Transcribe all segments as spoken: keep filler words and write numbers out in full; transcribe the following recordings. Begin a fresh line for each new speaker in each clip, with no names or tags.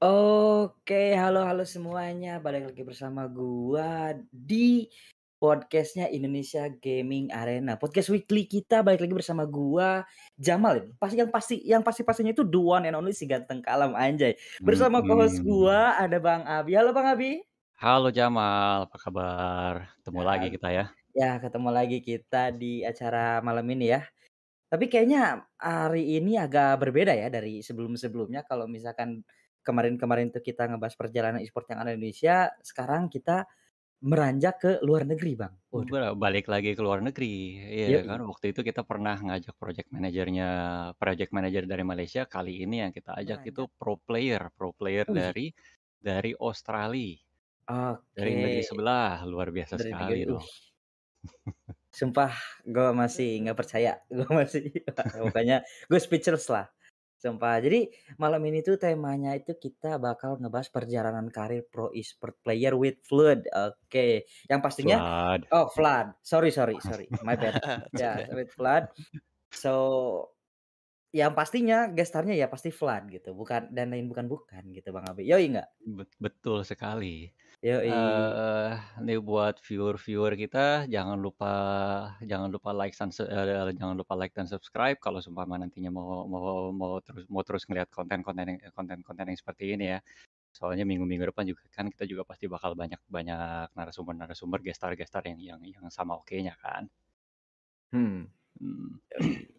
Oke, halo halo semuanya, balik lagi bersama gua di podcast-nya Indonesia Gaming Arena. Podcast weekly kita balik lagi bersama gua, Jamal. Pasti yang pasti yang pasti-pastinya itu the one and only si ganteng kalem anjay. Bersama co-host
Mhm.
gua ada Bang Abi. Halo Bang Abi.
Halo Jamal, apa kabar? Ketemu lagi
Ya,
kita ya.
ya ketemu lagi kita di acara malam ini ya. Tapi kayaknya hari ini agak berbeda ya dari sebelum-sebelumnya. Kalau misalkan kemarin-kemarin tuh kita ngebahas perjalanan e-sport yang ada di Indonesia, sekarang kita meranjak ke luar negeri, Bang. Waduh.
Ber balik lagi ke luar negeri. Iya kan
Yoi.
waktu itu kita pernah ngajak project manajernya project manager dari Malaysia, kali ini yang kita ajak itu
Beranjak.
pro player pro player
Wih.
dari dari Australia. Dari negeri
Oke.
sebelah, luar biasa
Dari
sekali
negeri
dong.
wih. Sumpah gua masih nggak percaya, gua masih pokoknya gue speechless lah, sumpah. Jadi malam ini tuh temanya itu kita bakal ngebahas perjalanan karir pro e-sport player with Flood. Oke, yang pastinya
Flood.
oh Flood, sorry sorry sorry, my bad.
It's
Ya,
okay.
with Flood. So, yang pastinya guest star-nya ya pasti Flood gitu, bukan dan lain bukan-bukan gitu Bang Abi. Yoi nggak?
Bet betul sekali.
Yoi.
Eee, ini buat viewer-viewer kita jangan lupa jangan lupa like dan se eee, jangan lupa like dan subscribe kalau seumpama nantinya mau mau mau terus mau terus ngelihat konten-konten yang konten-konten yang seperti ini ya. Soalnya minggu-minggu depan juga kan kita juga pasti bakal banyak banyak narasumber-narasumber, guest star-guest star yang yang yang sama okenya kan.
Hmm.
Mmm.
Yoi.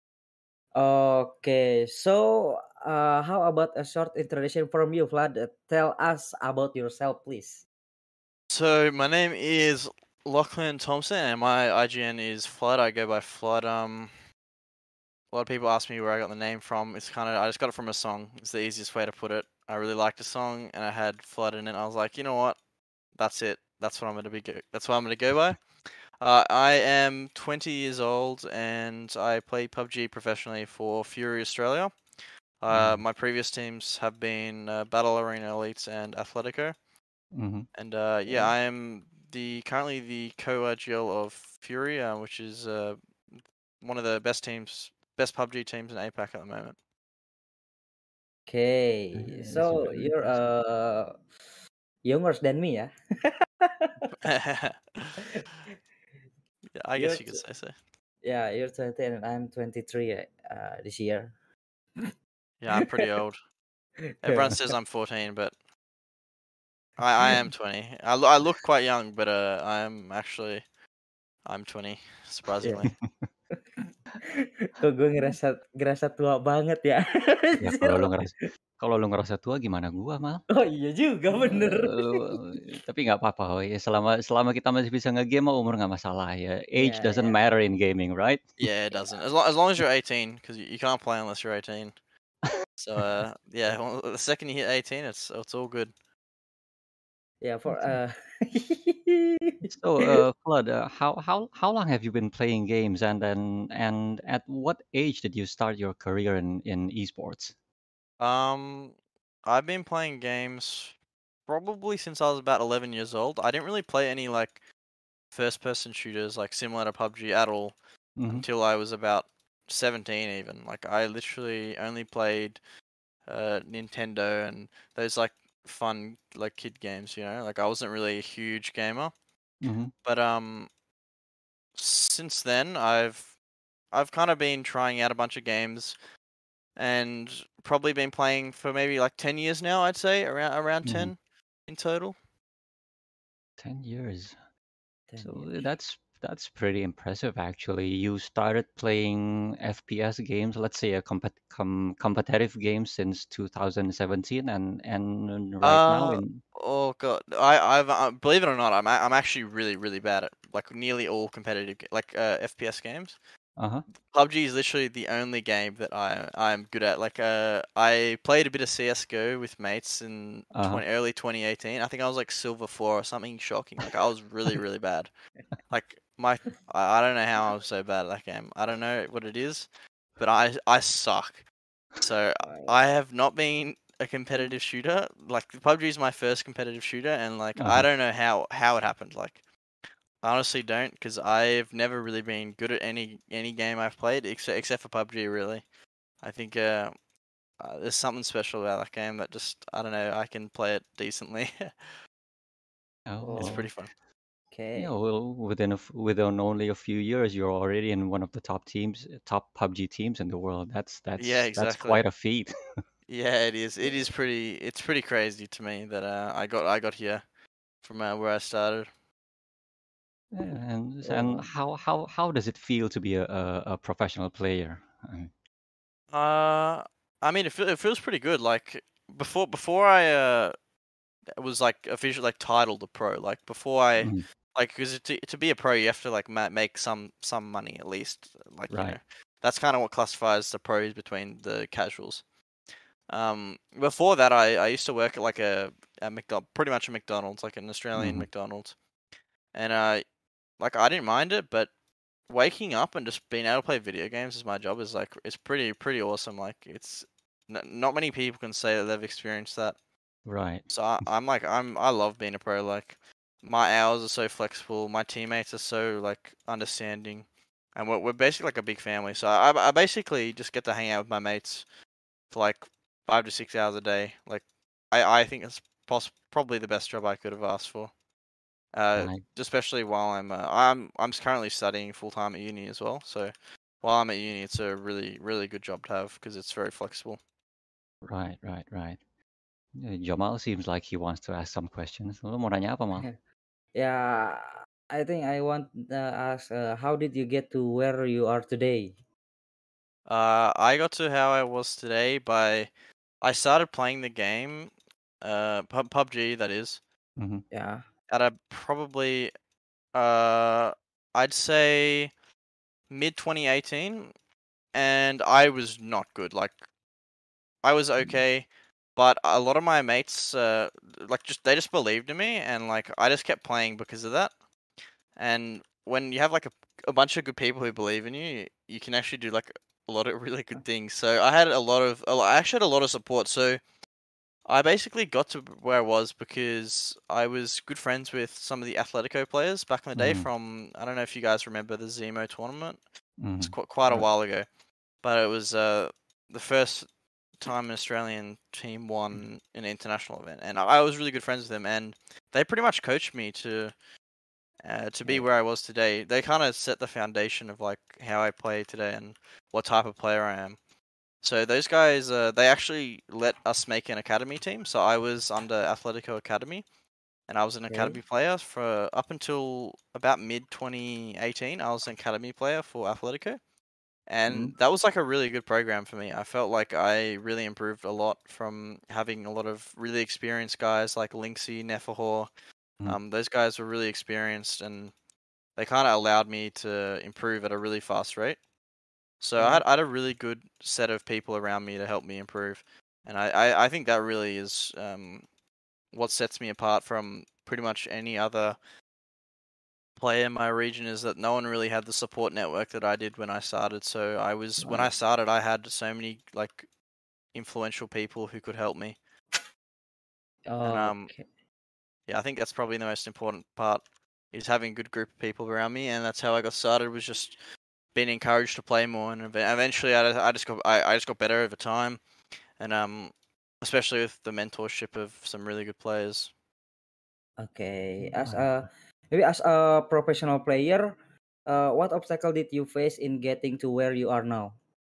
Okay, so, uh, how about a short introduction from you, Vlad? Uh, Tell us about yourself, please.
So my name is Lachlan Thompson, and my I G N is Flood. I go by Flood. Um, a lot of people ask me where I got the name from. It's kind of I just got it from a song. It's the easiest way to put it. I really liked the song, and I had Flood in it. I was like, you know what? That's it. That's what I'm gonna be. Go- that's what I'm gonna go by. Uh, I am twenty years old, and I play P U B G professionally for Fury Australia. Uh,
Mhm.
my previous teams have been uh, Battle Arena Elites and Athletico.
Mhm.
And uh, yeah,
Okay.
I am the currently the co-I G L of Fury, uh, which is uh, one of the best teams, best P U B G teams in APAC at the moment.
Okay,
Eh,
so
super
you're
impressive.
uh younger than me, ya?
Yeah, I
You're
guess you could
t-
say so.
yeah, you're twenty and I'm twenty-three uh, this year.
Yeah, I'm pretty old. Everyone says I'm fourteen, but I, I am twenty. I, lo- I look quite young, but uh, I am actually I'm twenty,
Yeah.
surprisingly.
Kok gue ngerasa ngerasa tua banget ya?
Ya
Anjir.
kalau lu ngeras kalau lu ngerasa tua gimana gua, Mal?
Oh iya juga, bener.
Eee, tapi nggak apa-apa, oh ya selama selama kita masih bisa nge-game mah umur nggak masalah ya. Age
Iya
doesn't
iya.
matter in gaming, right?
Yeah, it doesn't. As long as long as you're eighteen, because you, you can't play unless you're eighteen. So uh, yeah, well, the second you hit eighteen, it's it's all good.
Yeah, for
Okay.
uh
So, uh, Flood, uh, how how how long have you been playing games, and then and at what age did you start your career in in esports?
Um, I've been playing games probably since I was about eleven years old. I didn't really play any like first person shooters like similar to P U B G at all
Mhm.
until I was about seventeen even. Like I literally only played uh Nintendo and those like fun like kid games, you know? Like I wasn't really a huge gamer.
Mhm.
But um since then I've I've kind of been trying out a bunch of games and probably been playing for maybe like ten years now, I'd say, around around
Mhm.
ten in total.
ten years.
ten
So
years.
that's that's pretty impressive actually. You started playing F P S games, let's say a compet com competitive game since two thousand seventeen, and and right now
Uh
in
oh god, I I've uh, believe it or not, I'm a- I'm actually really really bad at like nearly all competitive ga- like uh, F P S games.
Uh-huh.
P U B G is literally the only game that I I'm good at. Like uh, I played a bit of C S G O with mates in
Uh-huh.
twenty, early twenty eighteen. I think I was like silver four or something shocking. Like I was really really bad. Like my I, I don't know how I'm so bad at that game. I don't know what it is, but I I suck. So
Wow.
I have not been a competitive shooter. Like P U B G is my first competitive shooter, and like I
Uh-huh.
don't know how how it happened. Like I honestly don't, because I've never really been good at any any game I've played except except for P U B G. Really, I think uh, uh, there's something special about that game that just I don't know. I can play it decently.
Oh,
It's
Oh,
pretty fun.
yeah.
okay.
Well, within a f within only a few years, you're already in one of the top teams, top P U B G teams in the world. That's
Yeah,
that's that's
exactly.
quite a feat.
Yeah, it is. It is pretty. It's pretty crazy to me that uh, I got I got here from uh, where I started.
Yeah, and and
Oh,
how how how does it feel to be a a, a professional player? I
Uh, I mean, it, feel, it feels pretty good. Like before, before I uh was like officially like titled a pro. Like before I
Mhm.
like because to to be a pro, you have to like ma- make some some money at least. Like you
Right.
know, that's kind of what classifies the pros between the casuals. Um, before that, I I used to work at like a a McDonald, pretty much a McDonald's, like an Australian
Hmm.
McDonald's, and uh, like I didn't mind it, but waking up and just being able to play video games as my job is like it's pretty pretty awesome. Like it's n- not many people can say that they've experienced that.
Right.
So I, I'm like I'm I love being a pro. Like my hours are so flexible. My teammates are so like understanding, and we're we're basically like a big family. So I I basically just get to hang out with my mates for like five to six hours a day. Like I I think it's poss- probably the best job I could have asked for. Uh,
Right.
especially while I'm uh, I'm I'm currently studying full time at uni as well. So while I'm at uni, it's a really really good job to have because it's very flexible.
Right. Right. Right. Yeah, Jamal seems like he wants to ask some questions. Lu mau nanya apa, Mal?
yeah. I think I want to ask, uh, how did you get to where you are today?
Uh, I got to how I was today by I started playing the game, uh, Pub P U B G that is,
Hmm.
Yeah.
at a probably uh I'd say mid twenty eighteen, and I was not good. Like I was okay, but a lot of my mates, uh, like just they just believed in me, and like I just kept playing because of that. And when you have like a, a bunch of good people who believe in you, you can actually do like a lot of really good things. So I had a lot of, a lo- I actually had a lot of support. So I basically got to where I was because I was good friends with some of the Atletico players back in the day.
Hmm.
From I don't know if you guys remember the Zemo tournament. It's
Hmm.
quite quite a
Uh,
while ago, but it was uh the first time an Australian team won an international event, and I I was really good friends with them, and they pretty much coached me to uh, to be
okay.
where I was today. They kind of set the foundation of like how I play today and what type of player I am. So those guys, uh, they actually let us make an academy team. So I was under Atletico Academy, and I was an
Okay.
academy player for up until about mid twenty eighteen. I was an academy player for Atletico,
Mm,
and that was like a really good program for me. I felt like I really improved a lot from having a lot of really experienced guys like Linksy, Nefahor.
Hmm.
Um, those guys were really experienced, and they kind of allowed me to improve at a really fast rate. So I
okay.
had, I had a really good set of people around me to help me improve, and I, I, I think that really is um, what sets me apart from pretty much any other player in my region, is that no one really had the support network that I did when I started. So I was when I
Wow.
started, I had so many like influential people who could help me, and um
Okay.
yeah, I think that's probably the most important part, is having a good group of people around me, and that's how I got started, was just being encouraged to play more, and ev- eventually I, I just got I, I just got better over time, and um especially with the mentorship of some really good players.
Okay. As
Right.
a maybe as a professional player, uh, what obstacle did you face in getting to where you are now?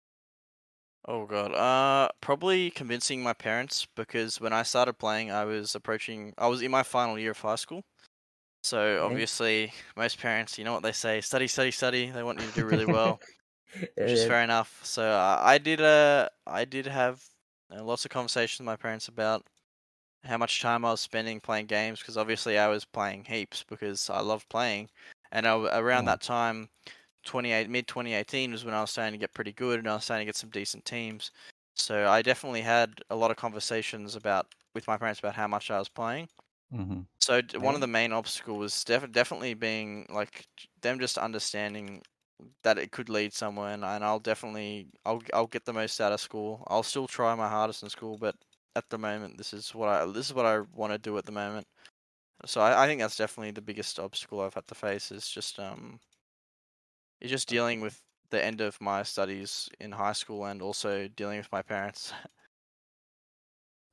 Oh god, uh, probably convincing my parents, because when I started playing, I was approaching, I was in my final year of high school. So
Okay.
obviously, most parents, you know what they say, study, study, study. They want you to do really well, which is
Uh,
fair enough. So uh, I did, uh, I did have uh, lots of conversations with my parents about how much time I was spending playing games, because obviously I was playing heaps because I love playing, and I, w- around
Yeah.
that time, twenty-eight mid twenty eighteen was when I was starting to get pretty good, and I was starting to get some decent teams. So I definitely had a lot of conversations about with my parents about how much I was playing.
Hmm.
So d- one of
okay.
the main obstacles was def- definitely being like j- them just understanding that it could lead somewhere, and, and I'll definitely I'll I'll get the most out of school. I'll still try my hardest in school, but at the moment, this is what I this is what I want to do at the moment. So I, I think that's definitely the biggest obstacle I've had to face, is just um is just dealing
Okay.
with the end of my studies in high school, and also dealing with my parents.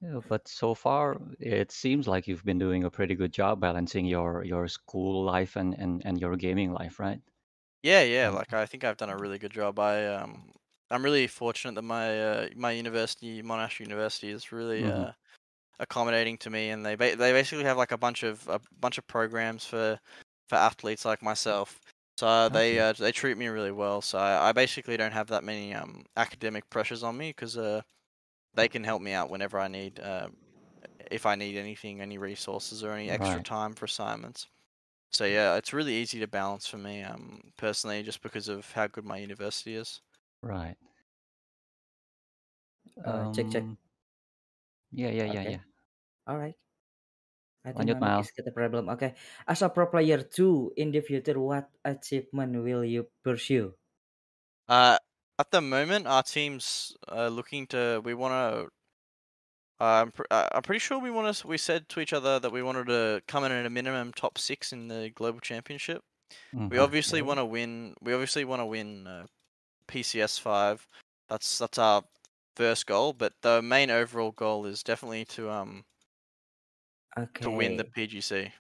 Yeah, but so far, it seems like you've been doing a pretty good job balancing your your school life and and and your gaming life, right?
Yeah, yeah.
Um,
Like I think I've done a really good job. I um, I'm really fortunate that my uh, my university, Monash University, is really
mhm.
uh accommodating to me, and they ba- they basically have like a bunch of a bunch of programs for for athletes like myself. So uh, they
Okay,
uh, they treat me really well. So I, I basically don't have that many um academic pressures on me because uh they can help me out whenever I need uh if I need anything, any resources or any extra
right,
time for assignments. So yeah, it's really easy to balance for me um personally just because of how good my university is.
right.
Uh, cek cek.
Um, yeah, yeah, yeah,
Okay,
yeah.
alright. I think
Lanjut,
my mic
Mal.
is got a problem. Okay, as a pro player too in the future, what achievement will you pursue?
Uh, at the moment, our team's uh, looking to. We want to. Uh, I'm, pr- uh, I'm pretty sure we want to. We said to each other that we wanted to come in at a minimum top six in the global championship. We
Mhm.
obviously
Okay,
want to win. We obviously want to win uh, P C S five. That's that's our first goal. But the main overall goal is definitely to um to win the
okay,
P G C.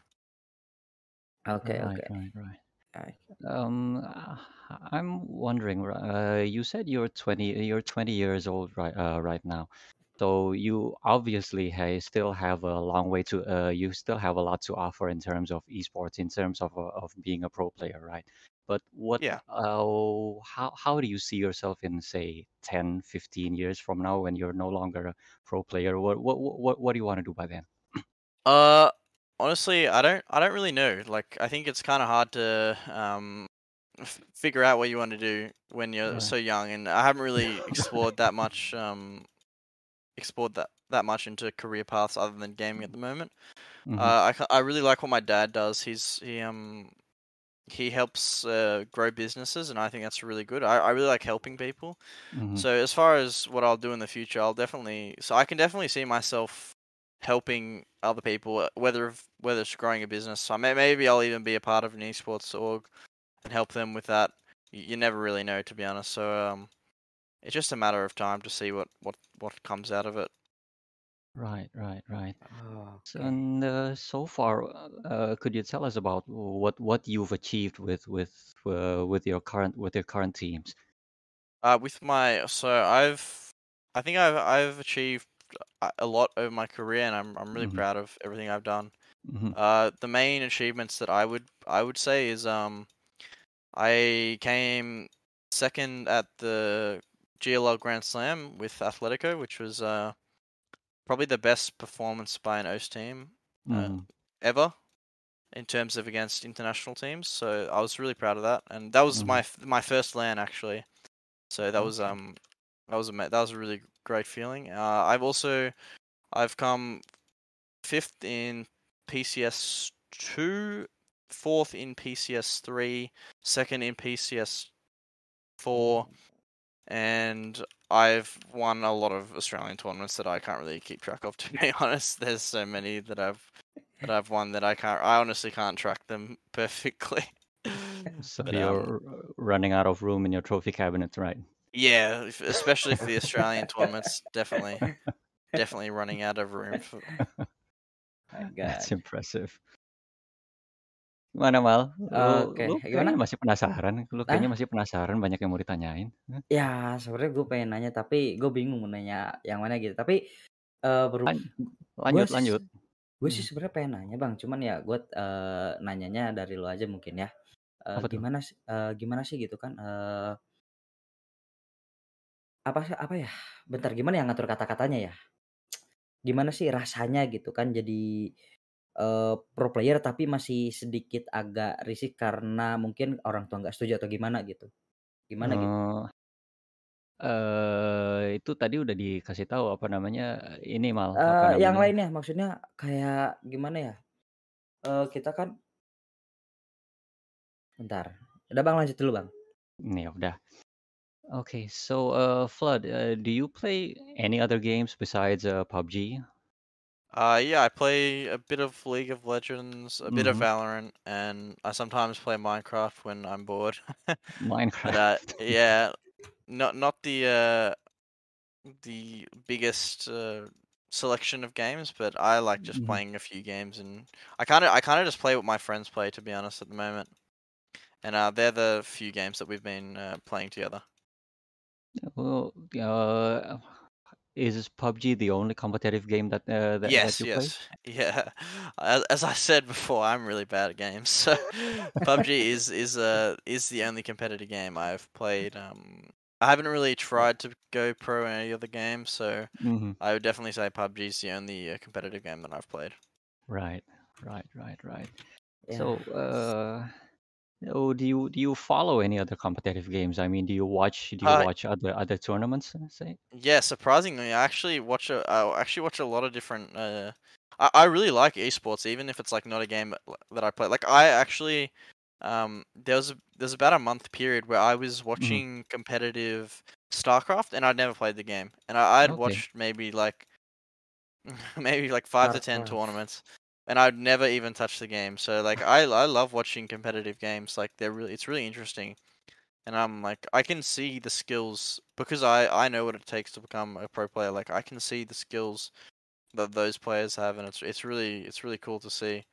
okay,
Right,
okay.
right, right.
Alright.
Um, uh, I'm wondering, ri- uh, you said you're twenty, you're twenty years old right, uh, right now. So you obviously ha still have a long way to, uh, you still have a lot to offer in terms of esports, in terms of uh, of being a pro player, right? But what,
Yeah.
uh, how how do you see yourself in, say, ten, fifteen years from now when you're no longer a pro player? What what what what do you want to do by then?
Uh, honestly, I don't. I don't really know. Like, I think it's kind of hard to um f- figure out what you want to do when you're
Right.
so young, and I haven't really explored that much. Um, explored that that much into career paths other than gaming at the moment.
Mm-hmm.
Uh, I ca- I really like what my dad does. He's he um he helps uh, grow businesses, and I think that's really good. I, I really like helping people.
Mm-hmm.
So as far as what I'll do in the future, I'll definitely. So I can definitely see myself helping other people, uh, whether whether it's growing a business. So may, maybe I'll even be a part of an esports org and help them with that. You, you never really know, to be honest. So um, it's just a matter of time to see what what what comes out of it.
Right, right, right. So,
Okay.
and uh, so far, uh, uh, could you tell us about what what you've achieved with with uh, with your current with your current teams?
Uh, with my so I've I think I've I've achieved a a lot over my career, and I'm I'm really
Mm-hmm.
proud of everything I've done.
Mm-hmm.
Uh, the main achievements that I would I would say is um I came second at the G L L Grand Slam with Atletico, which was uh probably the best performance by an O S team uh,
Mm-hmm.
ever in terms of against international teams. So I was really proud of that, and that was
Mm-hmm.
my f- my first LAN actually. So that was
Okay.
um that was a that was a really great feeling. Uh, I've also I've come fifth in P C S two, fourth in P C S three, second in P C S four, and I've won a lot of Australian tournaments that I can't really keep track of. To be honest, there's so many that I've that I've won that I can't. I honestly can't track them perfectly.
So
But um,
you're uh, running out of room in your trophy cabinet, right?
yeah, if, especially for the Australian tournaments, definitely, definitely running out of room for.
My
That's
God.
impressive. Gimana, Mal? Lu,
Oke,
lu kayaknya
gimana?
masih penasaran. Lu kayaknya
Nah,
masih penasaran, banyak yang mau ditanyain. Hah?
ya sebenarnya gue pengen nanya tapi gue bingung mau nanya yang mana gitu. Tapi eh beru
Lan-
gue
Lanjut,
sih
lanjut.
gue sih
Hmm,
sebenarnya pengen nanya bang, cuman ya gue eh, nanyanya dari lo aja mungkin ya. Eh,
Apa tuh?
gimana sih eh, gimana sih gitu kan? Eh, apa sih apa ya? Bentar gimana ya ngatur kata-katanya ya? Gimana sih rasanya gitu kan jadi eh, pro player tapi masih sedikit agak risih karena mungkin orang tua nggak setuju atau gimana gitu? Gimana gitu?
Eh, eh, itu tadi udah dikasih tahu apa namanya ini Mal, apa
Eee, yang
namanya?
lainnya maksudnya kayak gimana ya, eee, kita kan bentar, udah Bang lanjut dulu Bang.
Nih ya udah. Okay, so uh, Flood, uh, do you play any other games besides uh, P U B G?
Uh, yeah, I play a bit of League of Legends, a bit of
Mm-hmm.
Valorant, and I sometimes play Minecraft when I'm bored. But uh,
Minecraft.
yeah, not not the uh the biggest uh selection of games, but I like just
Mhm.
playing a few games, and I kind of I kind of just play what my friends play, to be honest, at the moment. And uh, they're the few games that we've been uh, playing together.
Well, uh, is P U B G the only competitive game that uh, that, that
Yes,
you play?
yes, yeah. As, as I said before, I'm really bad at games, so P U B G is is uh is the only competitive game I've played. Um, I haven't really tried to go pro in any other game, so
hmm
I would definitely say P U B G is the only uh, competitive game that I've played.
Right, right, right, right.
Yeah.
So, uh, oh, do you do you follow any other competitive games? I mean, do you watch do you
Uh,
watch other other tournaments? uh, Say.
yeah, surprisingly, I actually watch a I actually watch a lot of different. Uh, I I really like esports, even if it's like not a game that that I play. Like I actually, um, there was a, there's about a month period where I was
hmm
watching competitive StarCraft, and I'd never played the game, and I, I'd
Okay.
watched maybe like maybe like five to ten
StarCraft.
tournaments, and I'd never even touched the game. So like I I love watching competitive games. Like they're really it's really interesting. And I'm like, I can see the skills because I, I know what it takes to become a pro player. Like I can see the skills that those players have, and it's it's really it's really cool to see.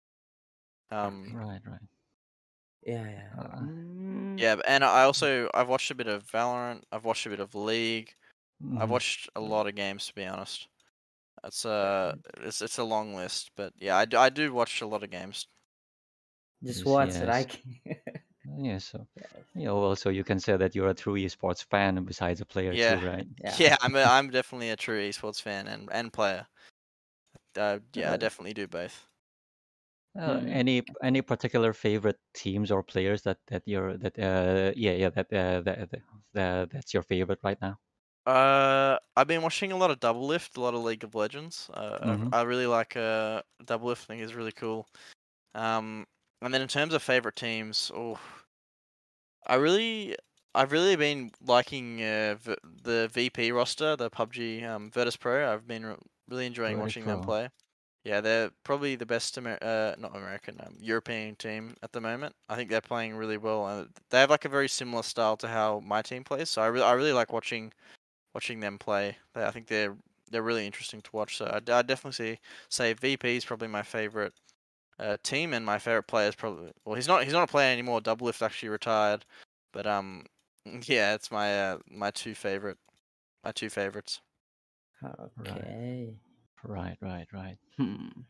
Um,
Right, right.
Yeah, yeah.
Uh,
Mm,
yeah, and I also I've watched a bit of Valorant. I've watched a bit of League. I've
mhm.
watched a lot of games, to be honest. It's uh it's it's a long list, but yeah, I do, I do watch a lot of games.
just
Yes,
watch,
yes,
right?
yeah. So,
Yes.
yeah. Well, so you can say that you're a true esports fan besides a player too,
Yeah,
right?
Yeah.
yeah, I'm a, I'm definitely a true esports fan and and player. Uh, yeah, I
Uh,
definitely do both.
uh,
Mm.
any any particular favorite teams or players that that you're that uh yeah yeah that uh that, that, that that's your favorite right now?
Uh, I've been watching a lot of Double Lift, a lot of League of Legends. Uh,
Mm-hmm.
I, I really like uh Double Lift. I think is really cool. Um, and then in terms of favorite teams, oh, I really, I've really been liking uh, v- the V P roster, the P U B G um, Virtus Pro. I've been re- really enjoying
Virtus
watching them
Pro.
play. Yeah, they're probably the best Amer- uh not American, um, European team at the moment. I think they're playing really well, and they have like a very similar style to how my team plays. So I really, I really like watching watching them play. They, I think they're they're really interesting to watch. So I I definitely see, say V P is probably my favorite uh, team, and my favorite player is probably well he's not he's not a player anymore. Double Lift actually retired, but um yeah, it's my uh, my two favorite my two favorites.
Right,
Okay.
right, right, right.
Hmm.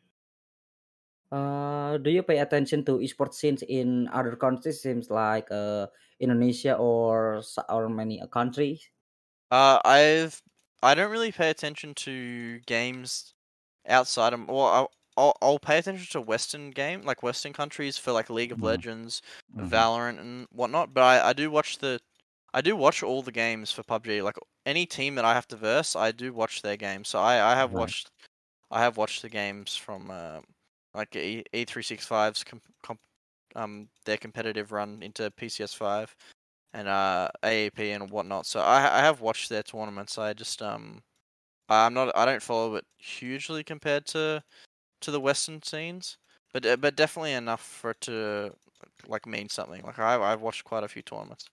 Uh, do you pay attention to esports scenes in other countries, seems like uh, Indonesia or s- or many uh, countries?
Uh, I've I don't really pay attention to games outside of well I'll, I'll I'll pay attention to Western game like Western countries for like League of
Mm-hmm.
Legends,
Mm-hmm.
Valorant and whatnot. But I, I do watch the I do watch all the games for P U B G. Like any team that I have to verse, I do watch their games. So I, I have
Right.
watched I have watched the games from uh, like E E three sixty-five's comp, comp, um their competitive run into P C S five and uh A A P and whatnot. So I I have watched their tournaments. I just um I'm not I don't follow it hugely compared to to the Western scenes, but uh, but definitely enough for it to like mean something. Like I I've watched quite a few tournaments.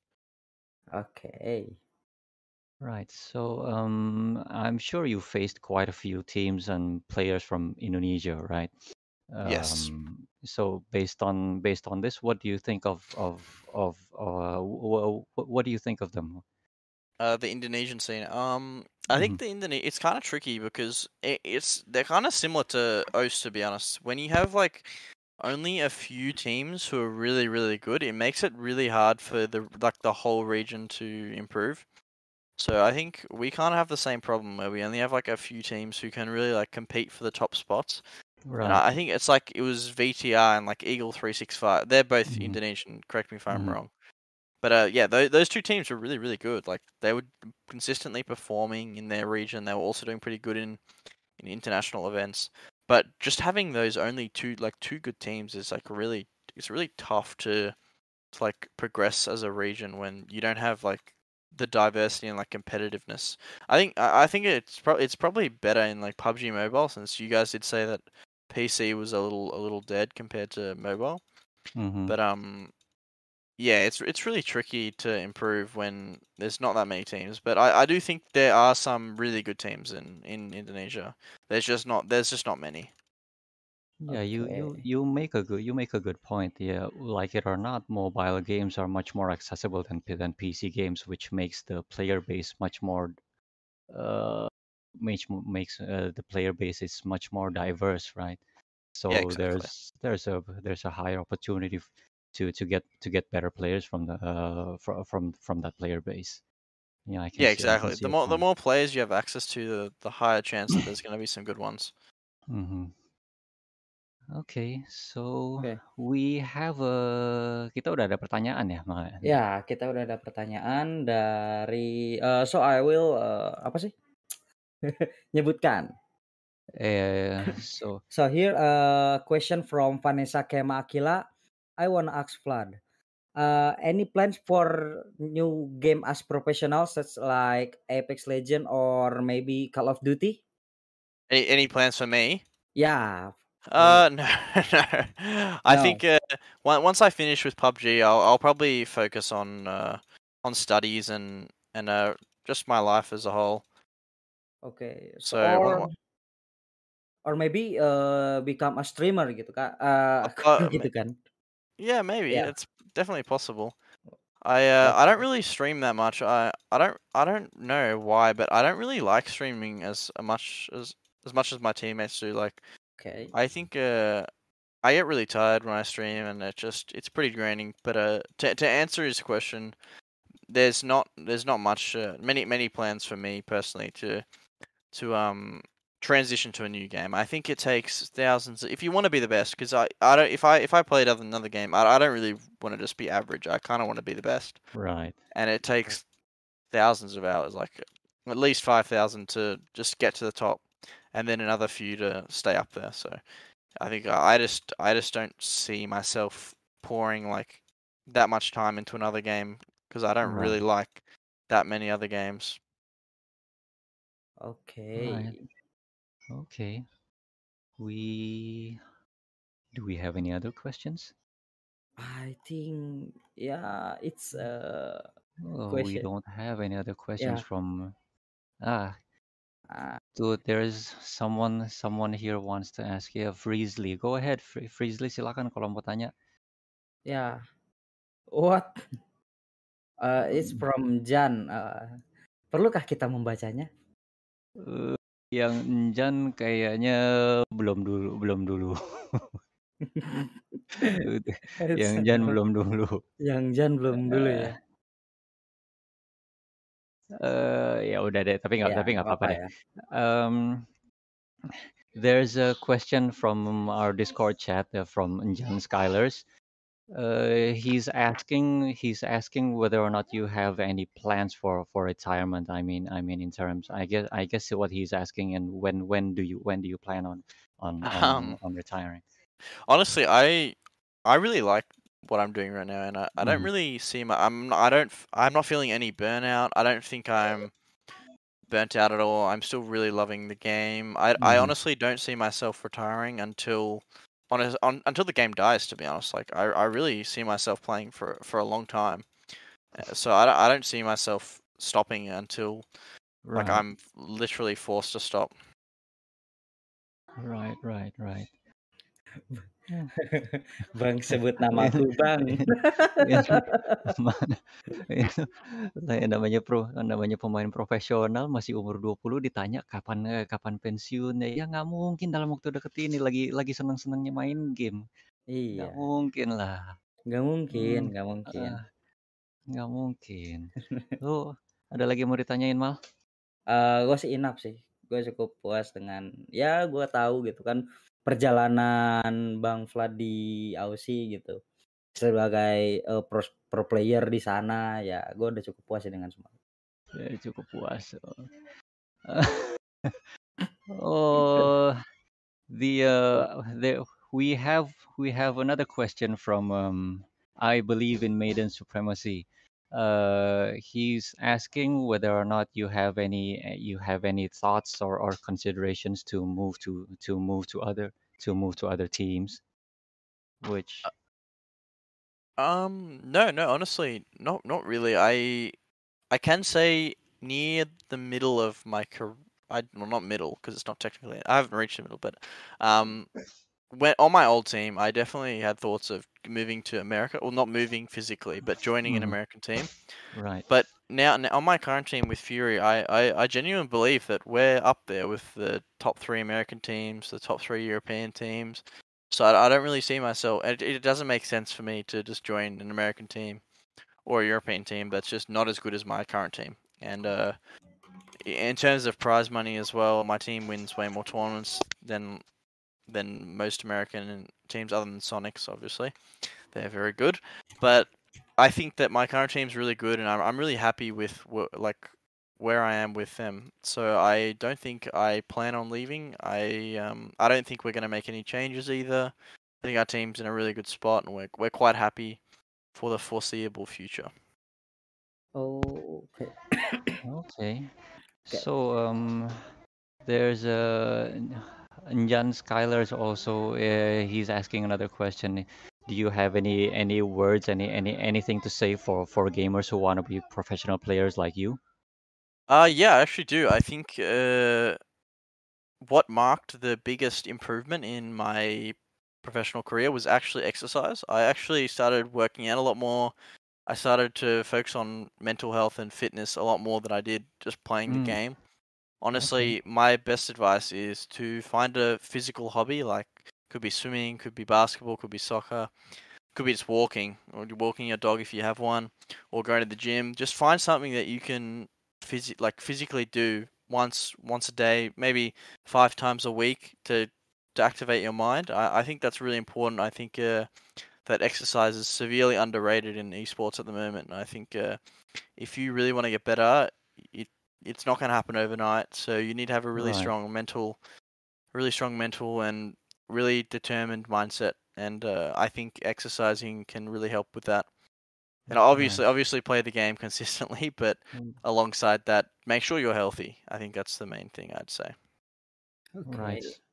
Okay.
Right. So, um, I'm sure you faced quite a few teams and players from Indonesia, right?
Yes.
Um, so based on based on this, what do you think of of of uh, w- what do you think of them?
Uh, the Indonesian scene. Um, I
hmm
think the Indone it's kind of tricky because it, it's they're kind of similar to O S, to be honest. When you have like only a few teams who are really really good, it makes it really hard for the like the whole region to improve. So I think we kind of have the same problem where we only have like a few teams who can really like compete for the top spots. And
Right.
I I think it's like it was V T R and like Eagle three sixty-five. They're both
hmm
Indonesian. Correct me if I'm
hmm
wrong. But uh, yeah, those those two teams were really really good. Like they were consistently performing in their region. They were also doing pretty good in in international events. But just having those only two like two good teams is like really it's really tough to to like progress as a region when you don't have like the diversity and like competitiveness. I think I I think it's probably it's probably better in like P U B G Mobile, since you guys did say that P C was a little a little dead compared to mobile.
hmm
But um yeah, it's it's really tricky to improve when there's not that many teams. But I, I do think there are some really good teams in, in Indonesia. There's just not there's just not many.
Yeah, you you
Oke.
you make a good you make a good point. Yeah, like it or not, mobile games are much more accessible than P- than P C games, which makes the player base much more uh makes mo- makes uh, the player base is much more diverse, right?
Yeah,
So
exactly.
there's there's a there's a higher opportunity f- to to get to get better players from the uh from from from that player base. Yeah, I can
Yeah,
see I can
exactly.
see
The
your
more the
point.
more players you have access to, the the higher chance that there's going to be some good ones.
Mm-hmm. Okay, so
Oke.
we have a kita udah ada pertanyaan ya, Mal?
Ya, kita udah ada pertanyaan dari eee, so I will, eee, apa sih, nyebutkan.
Eh, so
So here a question from Vanessa Kema Akila. I wanna ask Vlad, uh, any plans for new game as professional such like Apex Legend or maybe Call of Duty?
Any any plans for me?
Yeah, for you.
Uh, no, no. I
No.
think uh, on- once I finish with P U B G, I'll I'll probably focus on uh on studies and and uh just my life as a whole.
Okay. So
So
or
what,
or maybe uh, become a streamer gitu Kak. Uh,
uh,
gitu kan.
yeah, maybe
Yeah.
it's definitely possible. I uh, I don't
Okay.
really stream that much. I I don't I don't know why, but I don't really like streaming as much as as much as my teammates do. Like
Okay.
I think uh I get really tired when I stream, and it just it's pretty draining. But uh to to answer his question, there's not there's not much uh, many many plans for me personally to to um transition to a new game. I think it takes thousands if you want to be the best. Because I, I don't if I if I played other another game, I, I don't really want to just be average. I kind of want to be the best,
right.
and it takes thousands of hours, like at least five thousand to just get to the top, and then another few to stay up there. So I think I I just I just don't see myself pouring like that much time into another game because I don't really
Right.
like that many other games.
Right.
Okay.
Okay. We do we have any other questions?
I think yeah, it's a
Oh, we
question.
don't have any other questions
Yeah.
from ah
Uh,
Dude, there's someone someone here wants to ask you, Freesley. Go ahead, Fre- Freesley, silakan kalau mau tanya.
yeah. What? Uh, it's
Hmm,
from Jan. Uh, perlukah kita membacanya?
eh, yang Enjan kayaknya belum dulu, belum dulu. Yang
It's,
Jan
uh,
belum dulu.
yang Jan belum dulu
Eh,
ya.
eh, ya udah deh, tapi nggak
Ya,
tapi
nggak
nggak apa-apa
apa-apa
deh.
ya.
Um, there's a question from our Discord chat uh, from Enjan Skylers. Uh, he's asking he's asking whether or not you have any plans for for retirement. I mean I mean in terms I guess I guess what he's asking, and when when do you when do you plan on on on
Um,
on retiring?
honestly, I I really like what I'm doing right now, and I, I don't
Mhm.
really see my I'm not- I don't f- I'm not feeling any burnout. I don't think I'm burnt out at all. I'm still really loving the game. I I
Mhm.
honestly don't see myself retiring until on, on until the game dies. To be honest, like I I really see myself playing for for a long time. Uh, So I don't, I don't see myself stopping until like
Right,
I'm literally forced to stop.
right, right, right. Yeah.
Bang sebut namaku,
Ini-
Bang.
ini mana? Itu kayak namanya pro namanya pemain profesional masih umur dua puluh ditanya kapan eh, kapan pensiun ya, ya nggak mungkin dalam waktu deket ini lagi lagi seneng-senengnya main game. Nggak
Iya,
mungkin lah.
nggak mungkin,
Hmm,
nggak mungkin.
ah, nggak mungkin. Lu ada lagi yang mau ditanyain, Mal?
Eee, gue sih enough sih. Gue cukup puas dengan ya gue tahu gitu kan perjalanan Bang Vlad di Aussie gitu. Sebagai, eee, pros pro player di sana ya gue udah cukup puas sih dengan semua.
Ya, cukup puas. Oh, the uh, the we have we have another question from um, I believe in Maiden Supremacy. Uh, he's asking whether or not you have any uh, you have any thoughts or, or considerations to move to to move to other to move to other teams, which
Um, no, no, honestly, not not really. I I can say near the middle of my career, I well not middle because it's not technically. I haven't reached the middle, but um, when on my old team, I definitely had thoughts of moving to America, or not moving physically, but joining an
Mhm.
American team.
Right.
But now, now on my current team with Fury, I, I, I genuinely believe that we're up there with the top three American teams, the top three European teams. So I, I don't really see myself. It, it doesn't make sense for me to just join an American team or a European team that's just not as good as my current team. And uh, in terms of prize money as well, my team wins way more tournaments than than most American teams, other than Sonics, obviously. They're very good, but I think that my current team's really good, and I'm I'm really happy with wh- like where I am with them. So I don't think I plan on leaving. I um I don't think we're gonna make any changes either. I think our team's in a really good spot, and we're we're quite happy for the foreseeable future.
Oh, okay.
Okay.
Okay.
So um, there's a Jan Skylar's also. Uh, he's asking another question. Do you have any any words, any any anything to say for for gamers who want to be professional players like you?
Uh yeah, I actually do. I think uh what marked the biggest improvement in my professional career was actually exercise. I actually started working out a lot more. I started to focus on mental health and fitness a lot more than I did just playing the
Mm,
game.
okay.
Honestly, my best advice is to find a physical hobby, like could be swimming, could be basketball, could be soccer, could be just walking, or walking your dog if you have one, or going to the gym. Just find something that you can phys- like physically do once once a day, maybe five times a week to to activate your mind. I, I think that's really important. I think uh, that exercise is severely underrated in esports at the moment. And I think uh, if you really want to get better, it it's not going to happen overnight. So you need to have a really
Right.
strong mental, really strong mental and really determined mindset. And uh, I think exercising can really help with that. And
Right.
obviously, obviously, play the game consistently, but
Mm,
alongside that, make sure you're healthy. I think that's the main thing I'd say.
right.
Okay.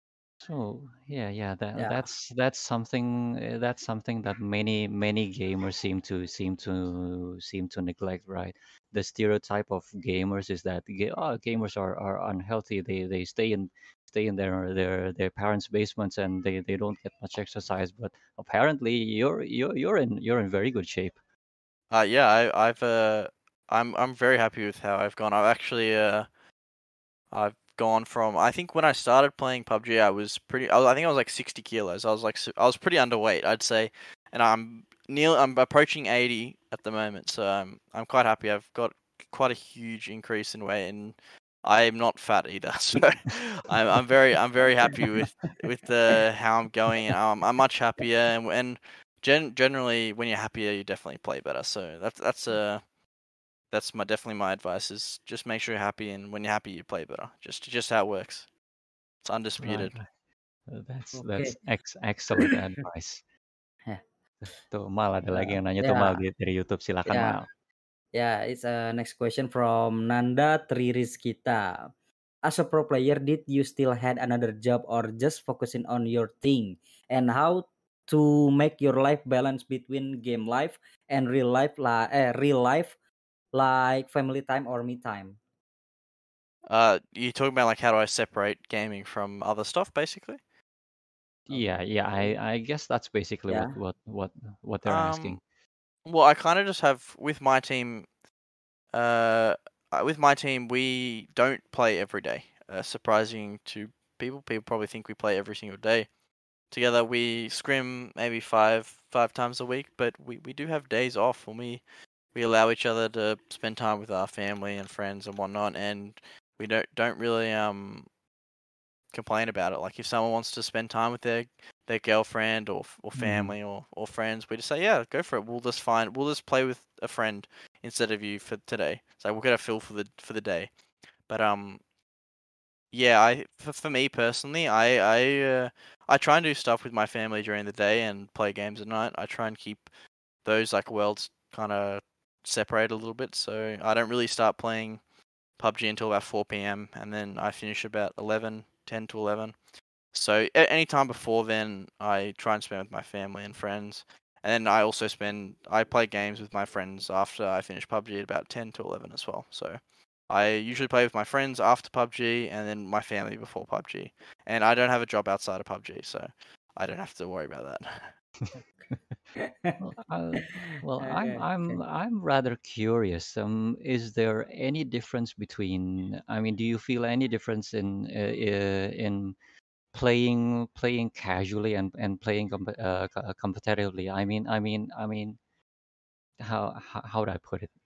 So yeah, yeah, that
Yeah.
that's that's something uh, that's something that many many gamers seem to seem to seem to neglect, right? The stereotype of gamers is that ga- oh, gamers are, are unhealthy. They they stay in stay in their their their parents' basements and they, they don't get much exercise. But apparently, you're you're you're in you're in very good shape.
Uh, yeah, I, I've uh, I'm I'm very happy with how I've gone. I've actually uh, I've gone from I think when I started playing P U B G, I was pretty. I, was, I think I was like sixty kilos. I was like I was pretty underweight, I'd say, and I'm near. I'm approaching eighty at the moment, so I'm I'm quite happy. I've got quite a huge increase in weight, and I'm not fat either. So I'm I'm very I'm very happy with with the how I'm going, and I'm I'm much happier. And and gen, generally, when you're happier, you definitely play better. So that's that's a that's my definitely my advice is just make sure you're happy, and when you're happy, you play better. Just just how it works. It's
Right,
undisputed.
right. Uh, That's that's
Okay.
ex excellent advice.
Yeah.
Tuh, Mal ada lagi
Uh,
yang nanya tuh Mal
yeah.
di- dari YouTube. Silakan
Yeah.
Mal.
Yeah. It's a next question from Nanda Tririzkita. As a pro player, did you still had another job or just focusing on your thing? And how to make your life balance between game life and real life, like eh, real life, like family time or me time?
Uh, you talking about like how do I separate gaming from other stuff, basically?
Yeah, yeah, I
Okay.
I guess that's basically what
Yeah.
what what what they're
Um,
asking.
well, I kind of just have with my team. Uh, uh, with my team, we don't play every day. Uh, surprising to people, people probably think we play every single day together. We scrim maybe five five times a week, but we, we do have days off when we we allow each other to spend time with our family and friends and whatnot, and we don't don't really um complain about it. Like if someone wants to spend time with their their girlfriend or or
Mhm.
family or, or friends, we just say, yeah, go for it. We'll just find we'll just play with a friend instead of you for today. So we'll get a feel for the for the day. But um yeah, I for, for me personally, I I uh, I try and do stuff with my family during the day and play games at night. I try and keep those like worlds kind of separate a little bit. So I don't really start playing P U B G until about four p m and then I finish about eleven, ten to eleven. So a- any time before then, I try and spend with my family and friends. And then I also spend I play games with my friends after I finish P U B G at about ten to eleven as well. So I usually play with my friends after P U B G and then my family before P U B G. And I don't have a job outside of P U B G, so I don't have to worry about that.
Well, uh, well, I'm
Okay.
I'm I'm rather curious. Um, is there any difference between? I mean, do you feel any difference in uh, uh, in playing playing casually and and playing comp uh, co- uh, competitively? I mean, I mean, I mean, how how, how would I put it?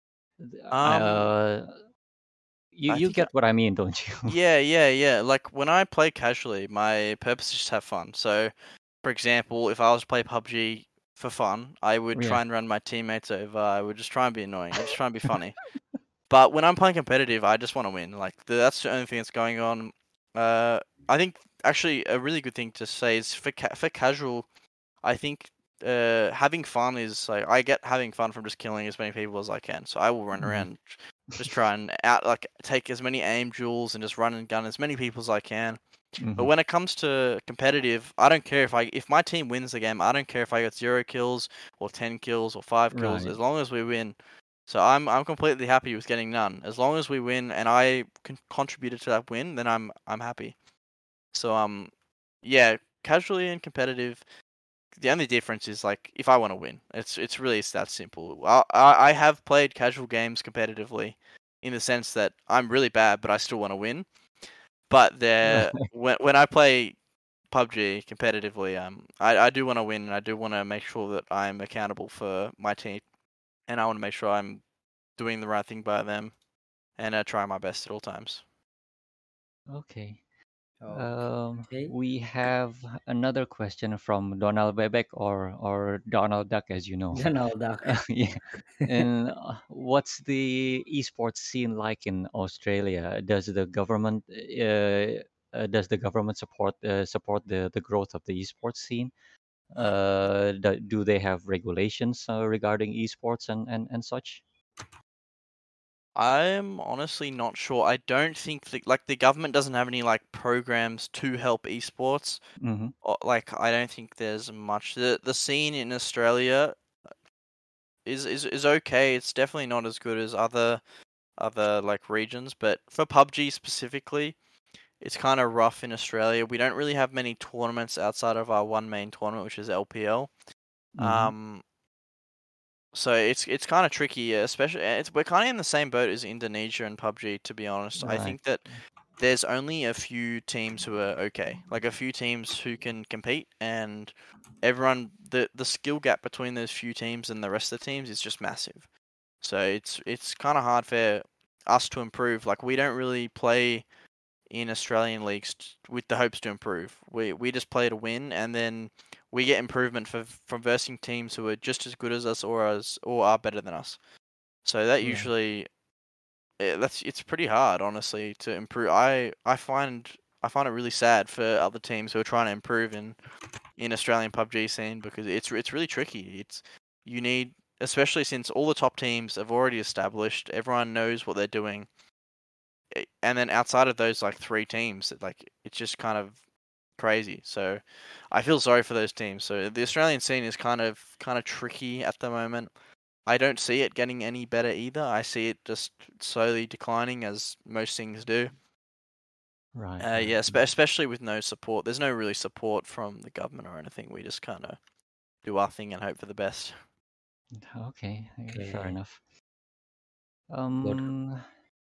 I,
Um,
uh, you
I
you
think
get what I mean, don't you?
Yeah, yeah, yeah. Like when I play casually, my purpose is just have fun. So, for example, if I was to play P U B G for fun, I would
Yeah.
try and run my teammates over. I would just try and be annoying. I just try and be funny. But when I'm playing competitive, I just want to win. Like the, that's the only thing that's going on. Uh, I think actually a really good thing to say is for ca- for casual. I think uh having fun is like I get having fun from just killing as many people as I can. So I will run
Mhm.
around, just try and out like take as many aim duels and just run and gun as many people as I can. But
Mhm.
when it comes to competitive, I don't care if I if my team wins the game. I don't care if I got zero kills or ten kills or five kills,
Right.
as long as we win. So I'm I'm completely happy with getting none. As long as we win and I con- contributed to that win, then I'm I'm happy. So um, yeah, casually and competitive. The only difference is like if I want to win, it's it's really it's that simple. I I I have played casual games competitively, in the sense that I'm really bad, but I still want to win. But
Right.
there, when when I play P U B G competitively, um, I I do want to win, and I do want to make sure that I'm accountable for my team, and I want to make sure I'm doing the right thing by them, and uh, try my best at all times.
Okay.
Okay.
Um, we have another question from Donald Bebek or or Donald Duck, as you know.
Donald Duck.
Uh, yeah. And uh, what's the esports scene like in Australia? Does the government uh, uh, does the government support uh, support the the growth of the esports scene? Uh, do, do they have regulations uh, regarding esports and, and, and such?
I'm honestly not sure. I don't think that like the government doesn't have any like programs to help esports.
Mm-hmm.
Or, like I don't think there's much. The the scene in Australia is is is okay. It's definitely not as good as other other like regions, but for P U B G specifically, it's kind of rough in Australia. We don't really have many tournaments outside of our one main tournament, which is L P L.
Mm-hmm.
Um, so it's it's kind of tricky, especially it's we're kind of in the same boat as Indonesia and P U B G. To be honest, I
Right.
think that there's only a few teams who are okay, like a few teams who can compete, and everyone the the skill gap between those few teams and the rest of the teams is just massive. So it's it's kind of hard for us to improve. Like we don't really play in Australian leagues t- with the hopes to improve. We we just play to win, and then we get improvement for from versing teams who are just as good as us or as or are better than us. So that
Right.
usually eh, that's it's pretty hard, honestly, to improve. I I find I find it really sad for other teams who are trying to improve in in Australian P U B G scene, because it's it's really tricky. It's you need, especially since all the top teams have already established, everyone knows what they're doing, eh, and then outside of those like three teams, like it's just kind of crazy. So I feel sorry for those teams. So the Australian scene is kind of kind of tricky at the moment. I don't see it getting any better either. I see it just slowly declining, as most things do.
Right.
Uh,
Right.
yeah, spe- especially with no support. There's no really support from the government or anything. We just kind of do our thing and hope for the best.
Okay. eh, Fair
Okay.
enough.
Good.
Um,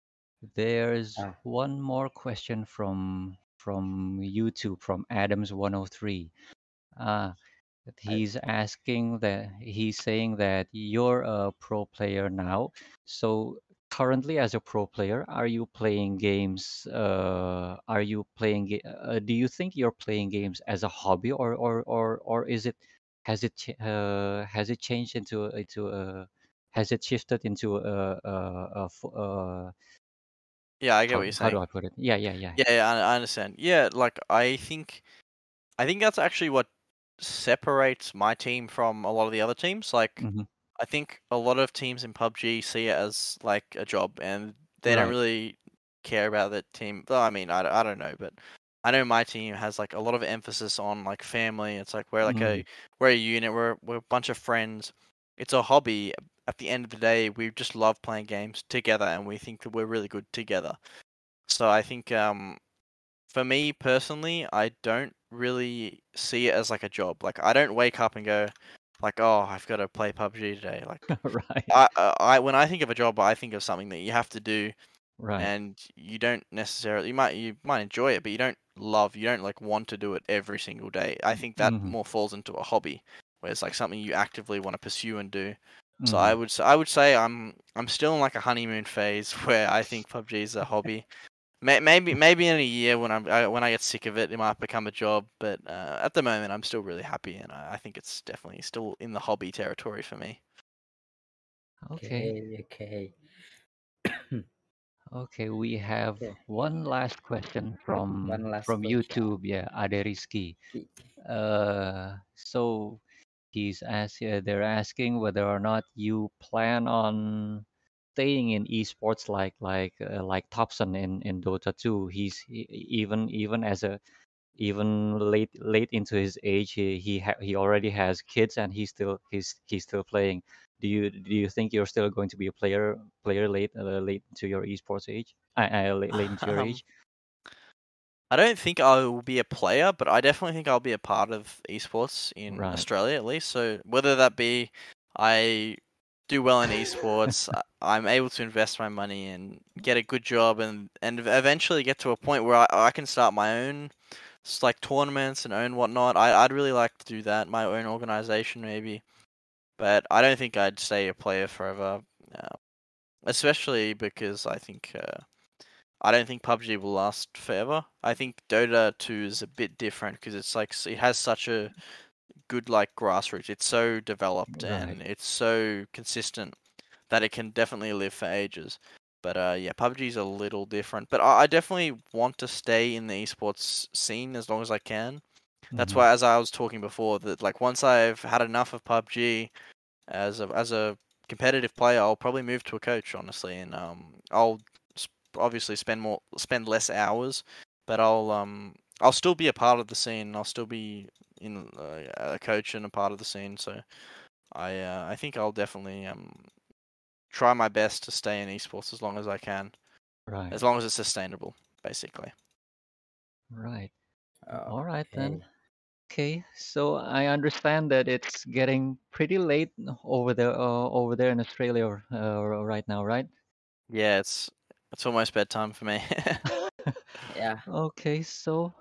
there's
Ah,
one more question from from YouTube from Adams one oh three. Uh,
I,
he's asking that he's saying that you're a pro player now. So currently, as a pro player, are you playing games? Uh, are you playing? ga- Uh, do you think you're playing games as a hobby, or or or or is it has it ch- uh, has it changed into a- into a has it shifted into a, a, a, fo- uh
Yeah, I get what
how
you're
how do
saying.
I put it? Yeah, yeah, yeah.
Yeah, yeah, I, I understand. Yeah, like I think I think that's actually what separates my team from a lot of the other teams. Like
Hmm.
I think a lot of teams in P U B G see it as like a job, and they don't
Right.
really care about the team. Well, I mean, I, I don't know, but I know my team has like a lot of emphasis on like family. It's like we're like
Mm.
a we're a unit. We're we're a bunch of friends. It's a hobby. At the end of the day, we just love playing games together, and we think that we're really good together. So I think um for me personally, I don't really see it as like a job. Like I don't wake up and go like, oh, I've got to play P U B G today. Like
Right.
I, I, I when I think of a job, I think of something that you have to do,
Right.
and you don't necessarily you might you might enjoy it, but you don't love, you don't like want to do it every single day. I think that
Mhm.
more falls into a hobby, where it's like something you actively want to pursue and do. So
Mhm.
I would s- I would say I'm I'm still in like a honeymoon phase where I think P U B G is a hobby. May- Maybe maybe in a year when I'm I, when I get sick of it, it might become a job. But uh, at the moment, I'm still really happy, and I, I think it's definitely still in the hobby territory for me.
Okay.
Okay, okay.
Okay, we have
Okay,
one last question from
one last
from
question.
YouTube. Yeah, Ade Rizky. Uh, so he's ask, uh, they're asking whether or not you plan on staying in esports like like uh, like Thompson in in Dota two. He's he, even even as a even late late into his age, he he ha- he already has kids and he's still he's he's still playing. Do you do you think you're still going to be a player player late uh, late into your esports age? Uh, uh, late, late into your
Um,
age?
I don't think I will be a player, but I definitely think I'll be a part of esports in
Right.
Australia at least. So whether that be I do well in esports, I- I'm able to invest my money and get a good job, and and eventually get to a point where I, I can start my own s- like tournaments and own whatnot. I I'd really like to do that, my own organization maybe. But I don't think I'd stay a player forever, uh, especially because I think. Uh, I don't think P U B G will last forever. I think Dota two is a bit different because it's like it has such a good like grassroots. It's so developed
Right.
and it's so consistent that it can definitely live for ages. But uh, yeah, P U B G is a little different. But I, I definitely want to stay in the esports scene as long as I can. That's
Mhm.
why, as I was talking before, that like once I've had enough of P U B G as a as a competitive player, I'll probably move to a coach, honestly, and um, I'll obviously spend more spend less hours, but I'll um I'll still be a part of the scene. I'll still be in uh, a coach and a part of the scene. So I uh, I think I'll definitely um try my best to stay in esports as long as I can,
Right.
as long as it's sustainable, basically.
Right. All right then.
Okay.
Okay, so I understand that it's getting pretty late over there uh, over there in Australia uh, right now, right?
Yeah, it's it's almost bedtime for me.
Yeah.
Okay, so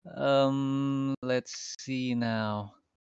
um let's see now.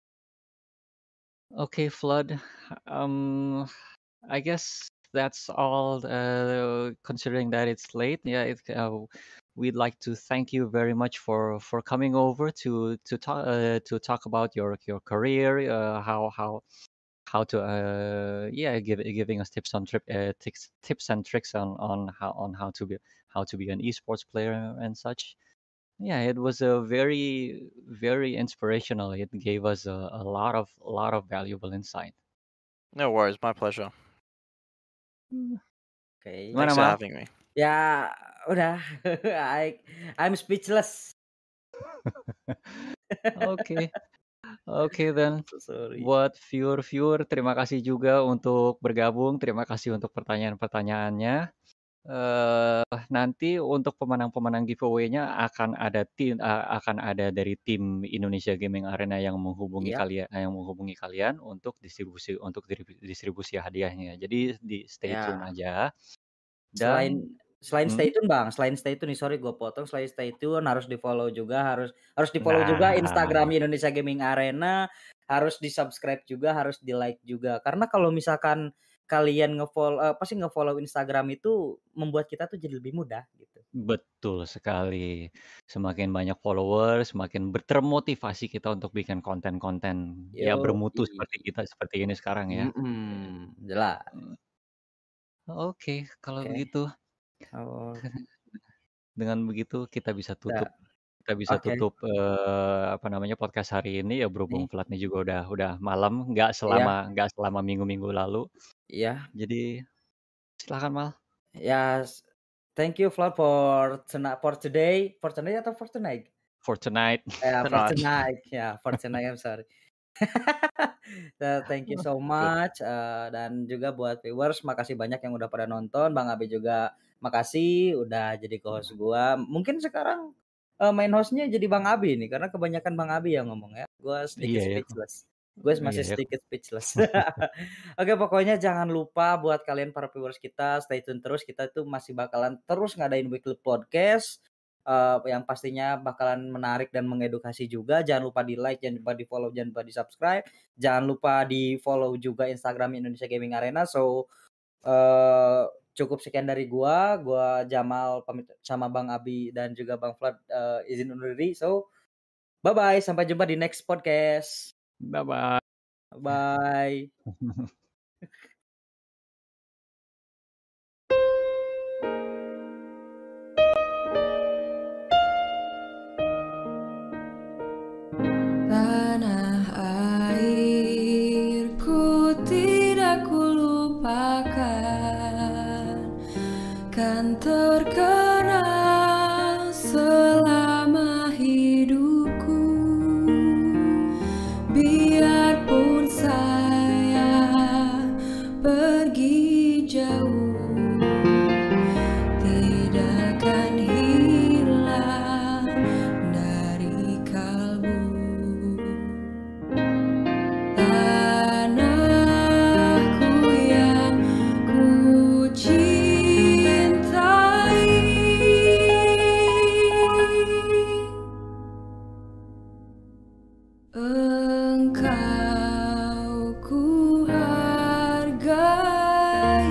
Okay, Flood. Um I guess that's all uh considering that it's late. Yeah, it, uh, we'd like to thank you very much for for coming over to to talk uh, to talk about your your career, uh, how how how to uh yeah give, giving us tips on trip uh, tips tips and tricks on on how on how to be how to be an esports player and such. Yeah, it was a very very inspirational. It gave us a, a lot of a lot of valuable insight.
No worries, my pleasure.
Hmm.
Okay.
Gimana
Thanks for
Mal?
having me.
Ya udah, I I'm speechless.
Oke, oke then.
So sorry.
Buat viewer-viewer, terima kasih juga untuk bergabung. Terima kasih untuk pertanyaan-pertanyaannya. Eh, nanti untuk pemenang-pemenang giveaway-nya akan ada tim eee, akan ada dari tim Indonesia Gaming Arena yang menghubungi
Yap.
kalian yang menghubungi kalian untuk distribusi untuk diri distribusi hadiahnya. Jadi di stay tune
Ya.
aja
Selain
dan
selain stay
mhm?
tune, Bang, selain stay tune nih, sorry gue potong, selain stay tune harus di-follow juga, harus harus di-follow juga
Nah,
Instagram Indonesia Gaming Arena, harus di-subscribe juga, harus di-like juga. Karena kalau misalkan kalian nge-follow eee, apa sih, nge-follow Instagram itu membuat kita tuh jadi lebih mudah gitu.
betul sekali. Semakin banyak follower, semakin ber termotivasi kita untuk bikin konten-konten ya bermutu
Yoi.
seperti kita seperti ini sekarang ya.
Mhm, jelas.
Mmm, oke kalau
Oke.
begitu.
Oh,
Dengan begitu kita bisa
udah.
tutup kita bisa
Oke,
tutup, eee, apa namanya, podcast hari ini ya berhubung
nih.
Vladnya juga udah udah malam, nggak
Iya,
selama nggak selama minggu-minggu lalu.
iya.
Jadi silakan Mal.
Yes. Thank you, Flo, for tonight for today. For tonight atau for tonight?
for tonight.
Ya, for
Tonight.
tonight. Ya, for tonight, I'm sorry. So, thank you so
Good.
much, eee, dan juga buat viewers makasih banyak yang udah pada nonton, Bang Abi juga makasih udah jadi co-host gua. Mungkin sekarang, eee, main host-nya jadi Bang Abi nih, karena kebanyakan Bang Abi yang ngomong ya. Gua sedikit
Iya ya.
speechless. Gue
Iya
masih
ya.
sedikit speechless. Oke, pokoknya jangan lupa buat kalian para viewers kita, stay tune terus. Kita tuh masih bakalan terus ngadain weekly podcast, eee, yang pastinya bakalan menarik dan mengedukasi juga. Jangan lupa di-like, jangan lupa di-follow, jangan lupa di-subscribe. Jangan lupa di-follow juga Instagram Indonesia Gaming Arena. So, eee, cukup sekian dari gua. Gua Jamal pamit sama Bang Abi dan juga Bang Flood, eee, izin undur diri. So, bye-bye, sampai jumpa di next podcast.
Bye-bye.
Bye.
Tanah airku tidak kulupakan, kan terkenal selama hidupku. Biarpun saya pergi jauh, tidak akan hilang dari kalbu. Tanahku yang ku cintai, Engkau ku hargai.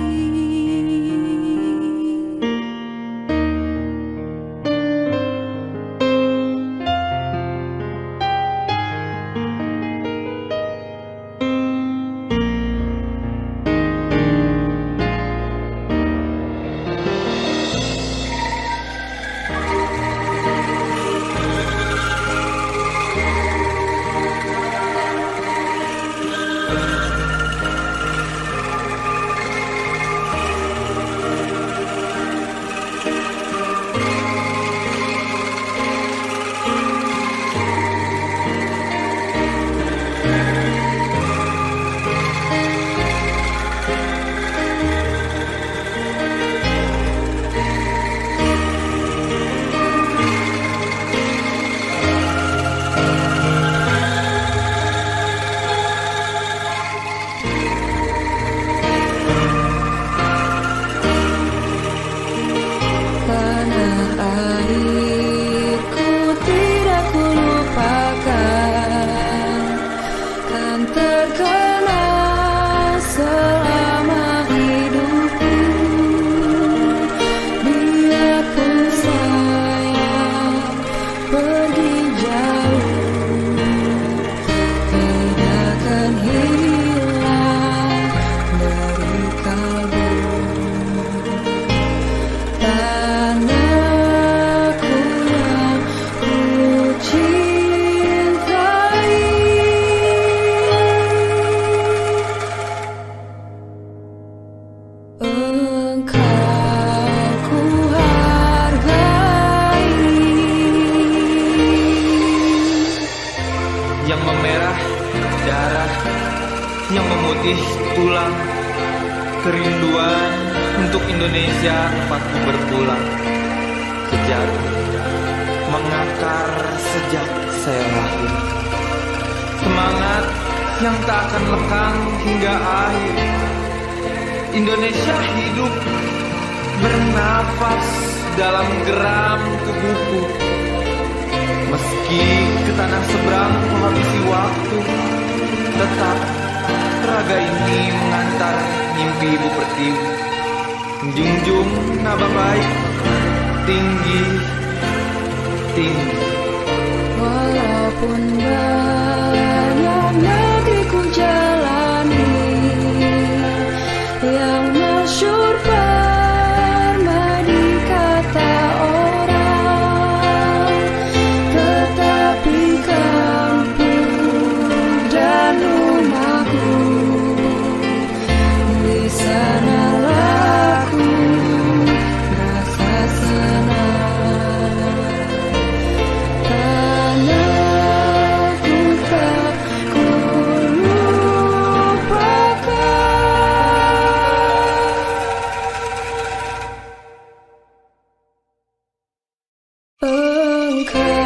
Tanah airku tidak kulupakan, kan terkenal selama hidupku. Biarpun saya pergi jauh, tidak akan hilang dari kalbu. Tanahku yang ku cintai, Engkau ku hargai.
Yang memerah darah, yang memutih tulang, kerinduan untuk Indonesia tempatku berpulang. Kejar, mengakar sejak saya lahir. Semangat yang tak akan lekang hingga akhir. Indonesia hidup, bernafas dalam geram tubuhku. Meski ke tanah seberang ku habisi waktu, tetap raga ini mengantar mimpi Ibu Pertiwi. Junjung naba baik, tinggi, tinggi.
Walaupun banyak negeri ku jalani, yang masyhur permadi kata orang, tetapi kampung dan rumahku, di sanalah ku merasa senang. ke